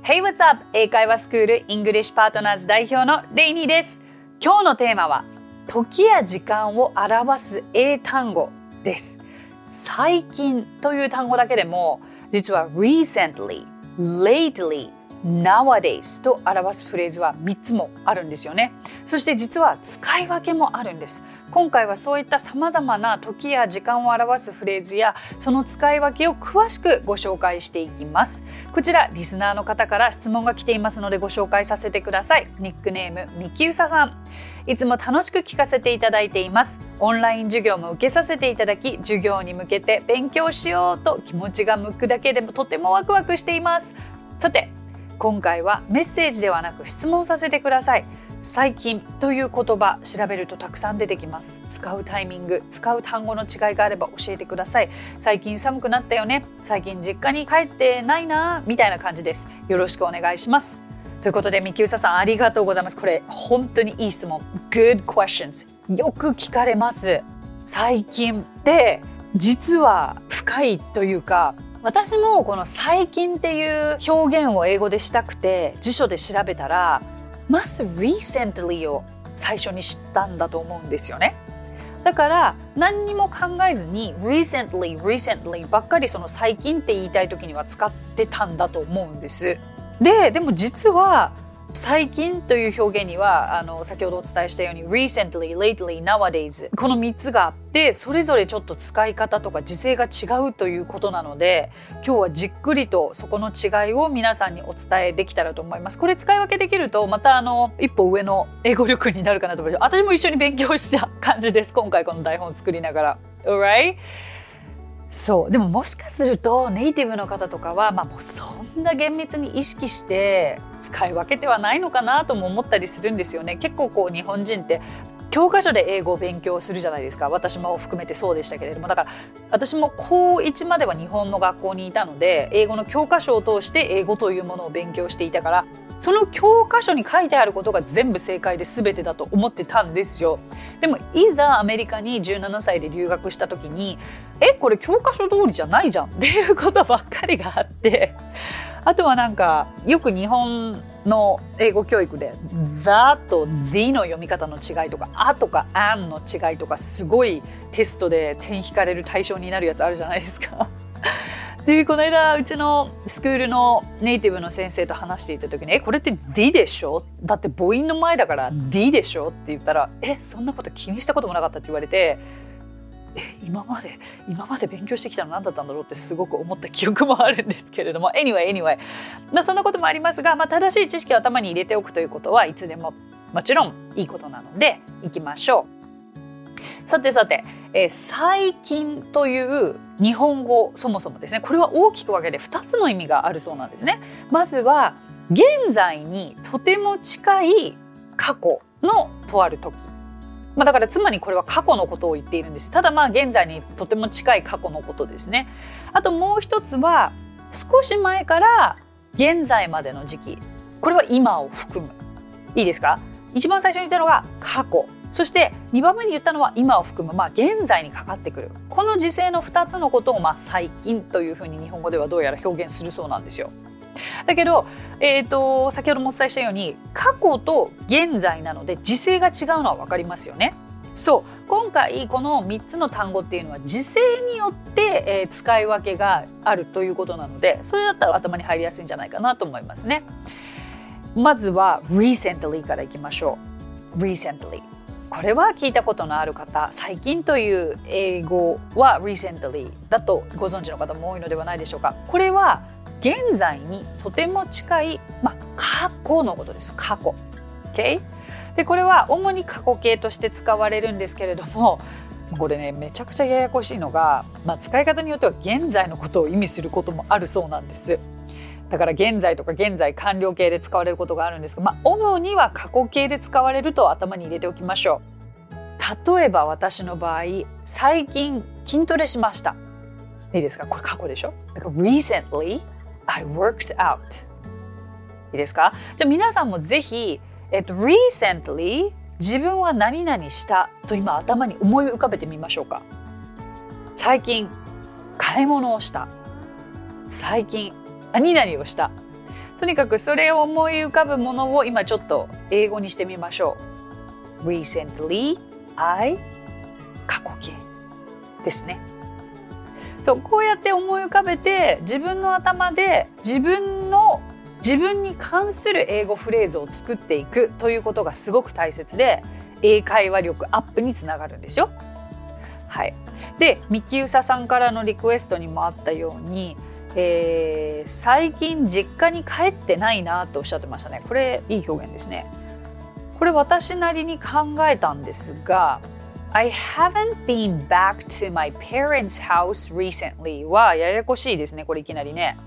Hey, what's up? 英会話スクール English Partners 代表のレイニーです。今日のテーマは時や時間を表す英単語です。最近という単語だけでも実は recently、lately、nowadays と表すフレーズは3つもあるんですよね。そして実は使い分けもあるんです。今回はそういった様々な時や時間を表すフレーズやその使い分けを詳しくご紹介していきます。こちらリスナーの方から質問が来ていますのでご紹介させてください。ニックネームみきうささん。いつも楽しく聞かせていただいています。オンライン授業も受けさせていただき、授業に向けて勉強しようと気持ちが向くだけでもとてもワクワクしています。さて、今回はメッセージではなく質問させてください。最近という言葉調べるとたくさん出てきます。使うタイミング、使う単語の違いがあれば教えてください。最近寒くなったよね。最近実家に帰ってないなみたいな感じです。よろしくお願いします。ということでみきうささんありがとうございます。これ本当にいい質問。Good questions。よく聞かれます。最近って実は深いというか、私もこの最近っていう表現を英語でしたくて辞書で調べたらまず recently を最初に知ったんだと思うんですよね。だから何にも考えずに recently ばっかりその最近って言いたい時には使ってたんだと思うんです。でも実は最近という表現には先ほどお伝えしたように recently、lately、nowadays この3つがあってそれぞれちょっと使い方とか時制が違うということなので今日はじっくりとそこの違いを皆さんにお伝えできたらと思います。これ使い分けできるとまた一歩上の英語力になるかなと思います。私も一緒に勉強した感じです。今回この台本を作りながら Alright?そうでももしかするとネイティブの方とかは、もうそんな厳密に意識して使い分けてはないのかなとも思ったりするんですよね。結構日本人って教科書で英語を勉強するじゃないですか。私も含めてそうでしたけれども、だから私も高1までは日本の学校にいたので英語の教科書を通して英語というものを勉強していたからその教科書に書いてあることが全部正解で全てだと思ってたんですよ。でもいざアメリカに17歳で留学した時にこれ教科書通りじゃないじゃんっていうことばっかりがあってあとはよく日本の英語教育で The と The の読み方の違いとかあとか an の違いとかすごいテストで点引かれる対象になるやつあるじゃないですか。でこの間うちのスクールのネイティブの先生と話していた時にこれって D でしょだって母音の前だから D でしょって言ったらそんなこと気にしたこともなかったって言われて今まで勉強してきたの何だったんだろうってすごく思った記憶もあるんですけれども anyway、そんなこともありますが、正しい知識を頭に入れておくということはいつでももちろんいいことなのでいきましょう。さて、最近という日本語そもそもですねこれは大きく分けて2つの意味があるそうなんですね。まずは現在にとても近い過去のとある時、だからつまりこれは過去のことを言っているんです。ただ現在にとても近い過去のことですね。あともう一つは少し前から現在までの時期、これは今を含む。いいですか？一番最初に言ったのが過去、そして2番目に言ったのは今を含む、現在にかかってくるこの時制の2つのことを最近というふうに日本語ではどうやら表現するそうなんですよ。だけど、先ほどもお伝えしたように過去と現在なので時制が違うのは分かりますよね。そう今回この3つの単語っていうのは時制によって、使い分けがあるということなのでそれだったら頭に入りやすいんじゃないかなと思いますね。まずは recently からいきましょう。recentlyこれは聞いたことのある方、最近という英語は recently だとご存知の方も多いのではないでしょうか。これは現在にとても近い、過去のことです。過去、okay? でこれは主に過去形として使われるんですけれどもこれねめちゃくちゃややこしいのが、使い方によっては現在のことを意味することもあるそうなんです。だから現在とか現在完了形で使われることがあるんですが、主には過去形で使われると頭に入れておきましょう。例えば私の場合最近筋トレしました。いいですか？これ過去でしょ。だから Recently I worked out。 いいですか？じゃあ皆さんもぜひ、Recently 自分は何々したと今頭に思い浮かべてみましょうか。最近買い物をした。最近何々をした。 とにかくそれを思い浮かぶものを今ちょっと英語にしてみましょう。Recently, I 過去形ですね。そうこうやって思い浮かべて自分の頭で自分に関する英語フレーズを作っていくということがすごく大切で英会話力アップにつながるんですよ。はい。で、ミキウサさんからのリクエストにもあったように、最近実家に帰ってないなとおっしゃってましたね。これいい表現ですね。これ私なりに考えたんですが、I haven't been back to my parents' house recently はややこしいですね。これいきなりね。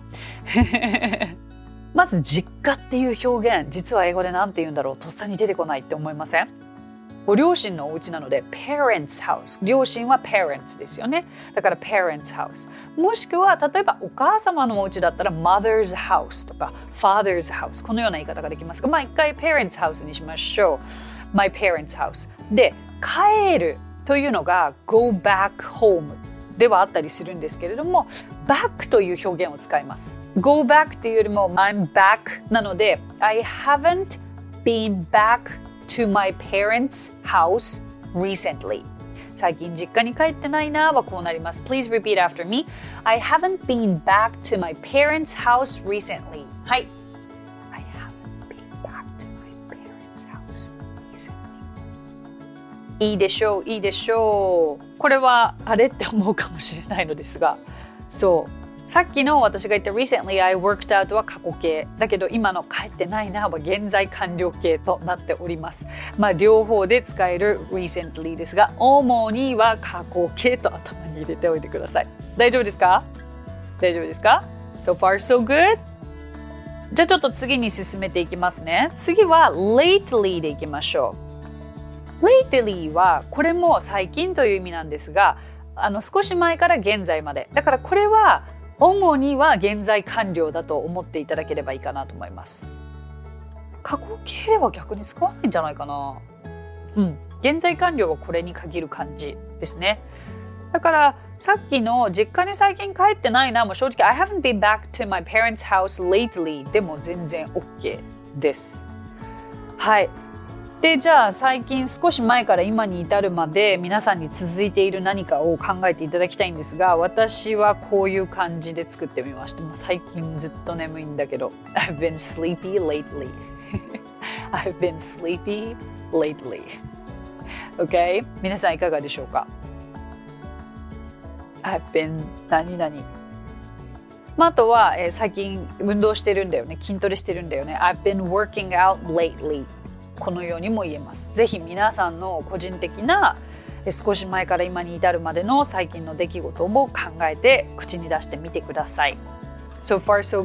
まず実家っていう表現、実は英語で何て言うんだろう、とっさに出てこないって思いません？ご両親のお家なので parents house、 両親は parents ですよね。だから parents house、 もしくは例えばお母様のお家だったら mother's house とか father's house、 このような言い方ができますが、一回 parents house にしましょう。 my parents house で、帰るというのが go back home ではあったりするんですけれども、 back という表現を使います。 go back っていうよりも I'm back なので I haven't been back to my parents' house recently。 最近実家に帰ってないなはこうなります。 Please repeat after me. I haven't been back to my parents' house recently。 はい。 I haven't been back to my parents' house recently。 いいでしょう、いいでしょう。これはあれって思うかもしれないのですが、そうさっきの私が言った recently I worked out は過去形だけど、今の帰ってないなは現在完了形となっております。両方で使える recently ですが、主には過去形と頭に入れておいてください。大丈夫ですか？大丈夫ですか？ So far so good? じゃあちょっと次に進めていきますね。次は lately でいきましょう。lately はこれも最近という意味なんですが、少し前から現在まで。だからこれは主には現在完了だと思っていただければいいかなと思います。過去形では逆に使わないんじゃないかな。現在完了はこれに限る感じですね。だからさっきの実家に最近帰ってないなも正直 I haven't been back to my parents' house lately でも全然 OK です。はい。で、じゃあ最近少し前から今に至るまで皆さんに続いている何かを考えていただきたいんですが、私はこういう感じで作ってみました。もう最近ずっと眠いんだけど I've been sleepy lately I've been sleepy lately OK? 皆さんいかがでしょうか？ I've been 何々。あとは、最近運動してるんだよね、筋トレしてるんだよね。 I've been working out lately。このようにも言えます。ぜひ皆さんの個人的な少し前から今に至るまでの最近の出来事も考えて口に出してみてください。So far so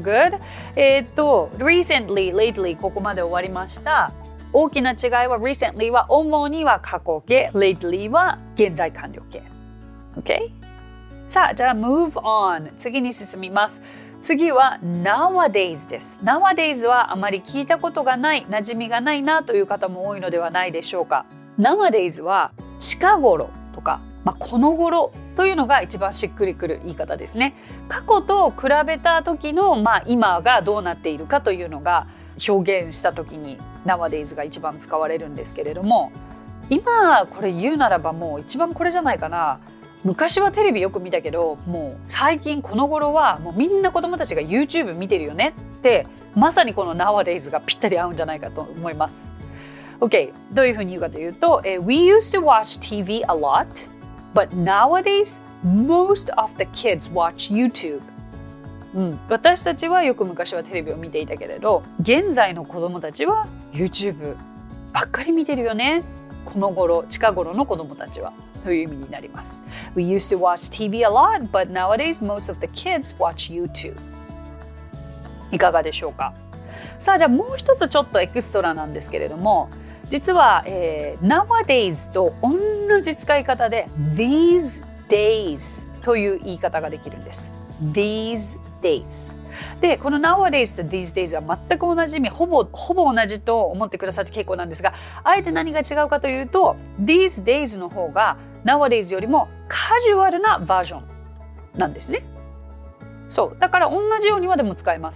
good。recently, lately ここまで終わりました。大きな違いは recently は主には過去形、lately は現在完了形。OK？ さあ、じゃあ move on。次に進みます。次は nowadays です。nowadays はあまり聞いたことがない、馴染みがないなという方も多いのではないでしょうか。nowadays は近頃とか、この頃というのが一番しっくりくる言い方ですね。過去と比べた時の、今がどうなっているかというのが表現した時に nowadays が一番使われるんですけれども、今これ言うならばもう一番これじゃないかな。昔はテレビよく見たけど、もう最近この頃はもうみんな子供たちが YouTube 見てるよねって、まさにこの nowadays がぴったり合うんじゃないかと思います。OK、どういうふうに言うかというと、We used to watch TV a lot, but nowadays most of the kids watch YouTube。私たちはよく昔はテレビを見ていたけれど、現在の子供たちは YouTube ばっかり見てるよね。この頃、近頃の子供たちは。という意味になります。We used to watch TV a lot, but nowadays most of the kids watch YouTube。いかがでしょうか？さあ、じゃあもう一つちょっとエクストラなんですけれども、実は、nowadays と同じ使い方で these days という言い方ができるんです。these days。で、この nowadays と these days は全く同じ意味、ほぼ同じと思ってくださって結構なんですが、あえて何が違うかというと、these days の方がnowadays よりもカジュアルなバージョンなんですね。そう。だから同じようにはでも使えます。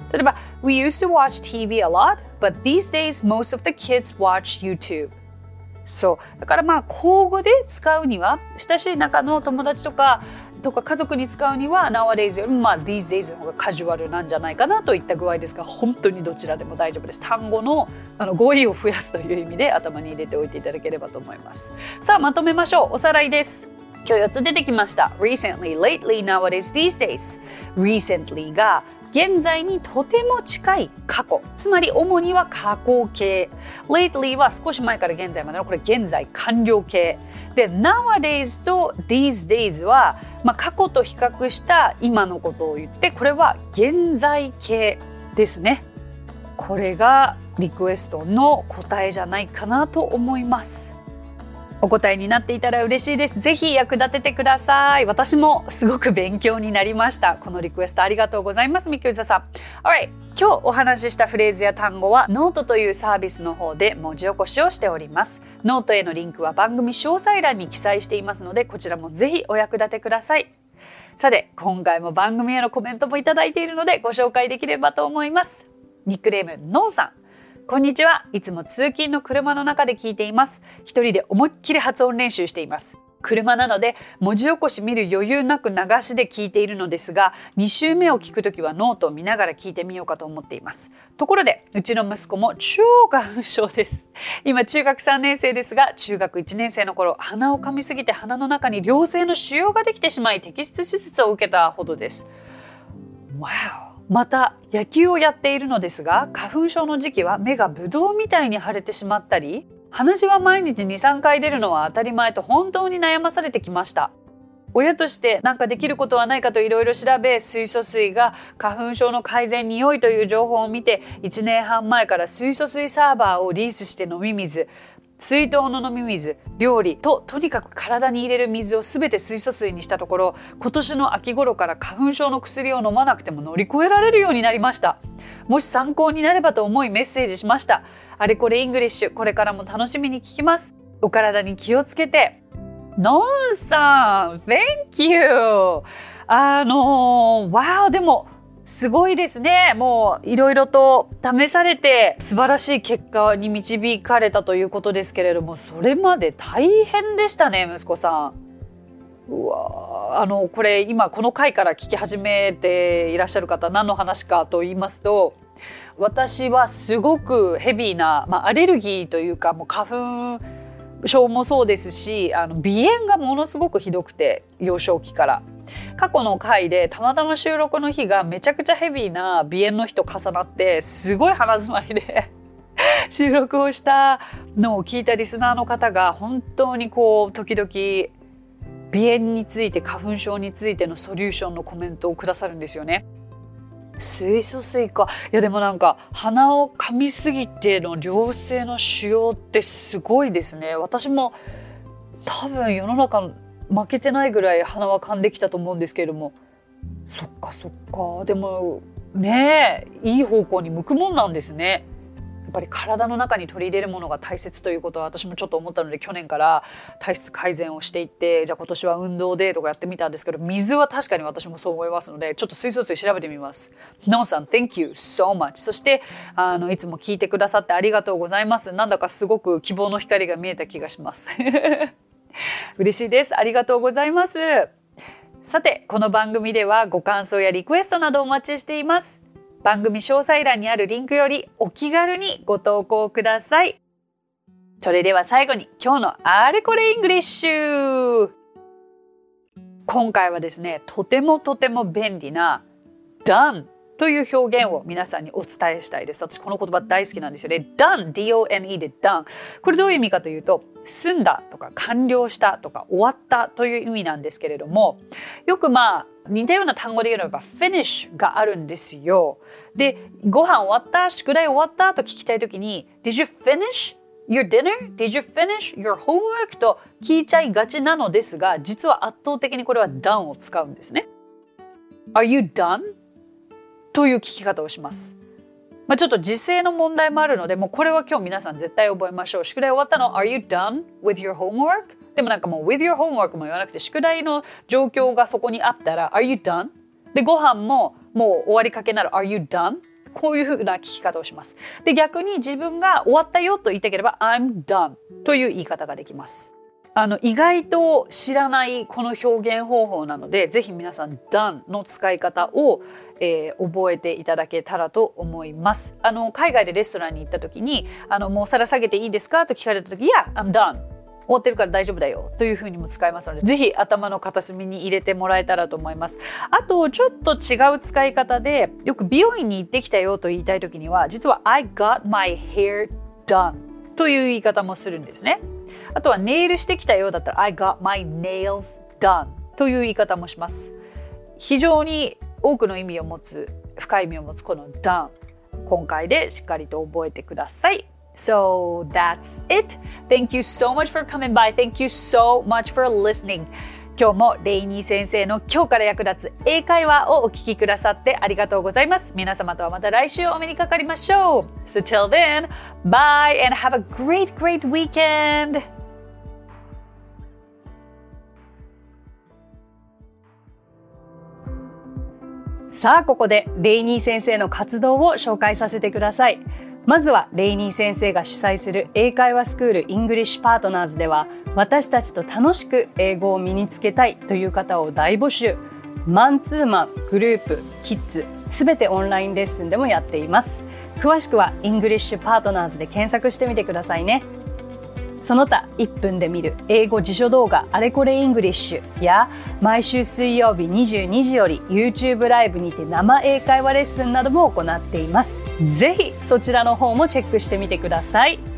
例えば We used to watch TV a lot, but these days most of the kids watch YouTube. そうだからまあ口語で使うには親しい仲の友達とか家族に使うには nowadays よりもまあ these days の方がカジュアルなんじゃないかなといった具合ですが、本当にどちらでも大丈夫です。単語の語彙を増やすという意味で頭に入れておいていただければと思います。さあまとめましょう。おさらいです。今日4つ出てきました。 Recently, lately, nowadays, these days。 Recently が現在にとても近い過去、つまり主には過去形。 Lately は少し前から現在までのこれ現在完了形で、 Nowadays と These days は、過去と比較した今のことを言って、これは現在形ですね。これがリクエストの答えじゃないかなと思います。お答えになっていたら嬉しいです。ぜひ役立ててください。私もすごく勉強になりました。このリクエストありがとうございます。みきゅうざさん。Alright、今日お話ししたフレーズや単語はノートというサービスの方で文字起こしをしております。ノートへのリンクは番組詳細欄に記載していますので、こちらもぜひお役立てください。さて、今回も番組へのコメントもいただいているのでご紹介できればと思います。ニックネームのんさん。こんにちは。いつも通勤の車の中で聞いています。一人で思いっきり発音練習しています。車なので文字起こし見る余裕なく流しで聞いているのですが、2週目を聞くときはノートを見ながら聞いてみようかと思っています。ところで、うちの息子も超花粉症です。今中学3年生ですが、中学1年生の頃、鼻を噛みすぎて鼻の中に良性の腫瘍ができてしまい、摘出手術を受けたほどです。Wow。また野球をやっているのですが、花粉症の時期は目がブドウみたいに腫れてしまったり、鼻血は毎日 2,3 回出るのは当たり前と本当に悩まされてきました。親として何かできることはないかといろいろ調べ、水素水が花粉症の改善に良いという情報を見て、1年半前から水素水サーバーをリースして飲み水、水筒の飲み水、料理とにかく体に入れる水をすべて水素水にしたところ、今年の秋頃から花粉症の薬を飲まなくても乗り越えられるようになりました。もし参考になればと思いメッセージしました。あれこれイングリッシュ、これからも楽しみに聞きます。お体に気をつけて。のんさん Thank you。 wow、 でもすごいですね。もういろいろと試されて素晴らしい結果に導かれたということですけれども、それまで大変でしたね、息子さん。うわ、これ今この回から聞き始めていらっしゃる方、何の話かと言いますと、私はすごくヘビーな、アレルギーというか、もう花粉症もそうですし、鼻炎がものすごくひどくて、幼少期から。過去の回でたまたま収録の日がめちゃくちゃヘビーな鼻炎の日と重なって、すごい鼻詰まりで収録をしたのを聞いたリスナーの方が、本当に時々鼻炎について、花粉症についてのソリューションのコメントをくださるんですよね。水素水か。いやでもなんか鼻を噛みすぎての良性の腫瘍ってすごいですね。私も多分世の中負けてないぐらい鼻は噛んできたと思うんですけれども、そっかそっか。でもね、いい方向に向くもんなんですね。やっぱり体の中に取り入れるものが大切ということは私もちょっと思ったので、去年から体質改善をしていって、じゃあ今年は運動でとかやってみたんですけど、水は確かに私もそう思いますので、ちょっと水素水調べてみます。ノンさん Thank you so much。 そしていつも聞いてくださってありがとうございます。なんだかすごく希望の光が見えた気がします嬉しいです。ありがとうございます。さて、この番組ではご感想やリクエストなどお待ちしています。番組詳細欄にあるリンクよりお気軽にご投稿ください。それでは最後に今日のあれこれイングリッシュ。今回はですね、とても便利な done という表現を皆さんにお伝えしたいです。私この言葉大好きなんですよね。done、 D-O-N-E で done。これどういう意味かというと、済んだとか完了したとか終わったという意味なんですけれども、よく似たような単語で言うのが finish があるんですよ。で、ご飯終わった、宿題終わったと聞きたいときに Did you finish your dinner? Did you finish your homework? と聞いちゃいがちなのですが、実は圧倒的にこれは done を使うんですね。Are you done? という聞き方をします。ちょっと時制の問題もあるので、もうこれは今日皆さん絶対覚えましょう。宿題終わったの Are you done with your homework? でももう with your homework も言わなくて、宿題の状況がそこにあったら Are you done? で、ご飯ももう終わりかけなら Are you done? こういうふうな聞き方をします。で、逆に自分が終わったよと言いたければ I'm done という言い方ができます。意外と知らないこの表現方法なので、ぜひ皆さん done の使い方を、覚えていただけたらと思います。海外でレストランに行った時にもう皿下げていいですかと聞かれた時、Yeah, I'm done。終わってるから大丈夫だよというふうにも使えますので、ぜひ頭の片隅に入れてもらえたらと思います。あとちょっと違う使い方で、よく美容院に行ってきたよと言いたい時には、実は I got my hair done という言い方もするんですね。あとはネイルしてきたよだったら I got my nails done という言い方もします。非常に多くの意味を持つ、深い意味を持つこの done、 今回でしっかりと覚えてください。So that's it. Thank you so much for coming by. Thank you so much for listening. 今日もレイニー先生の今日から役立つ英会話をお聞きくださってありがとうございます。皆様とはまた来週お目にかかりましょう。So till then, bye and have a great weekend. さあ、ここでレイニー先生の活動を紹介させてください。まずはレイニー先生が主催する英会話スクールイングリッシュパートナーズでは、私たちと楽しく英語を身につけたいという方を大募集。マンツーマン、グループ、キッズ、すべてオンラインレッスンでもやっています。詳しくはイングリッシュパートナーズで検索してみてくださいね。その他1分で見る英語辞書動画あれこれイングリッシュや、毎週水曜日22時より YouTube ライブにて生英会話レッスンなども行っています。ぜひそちらの方もチェックしてみてください。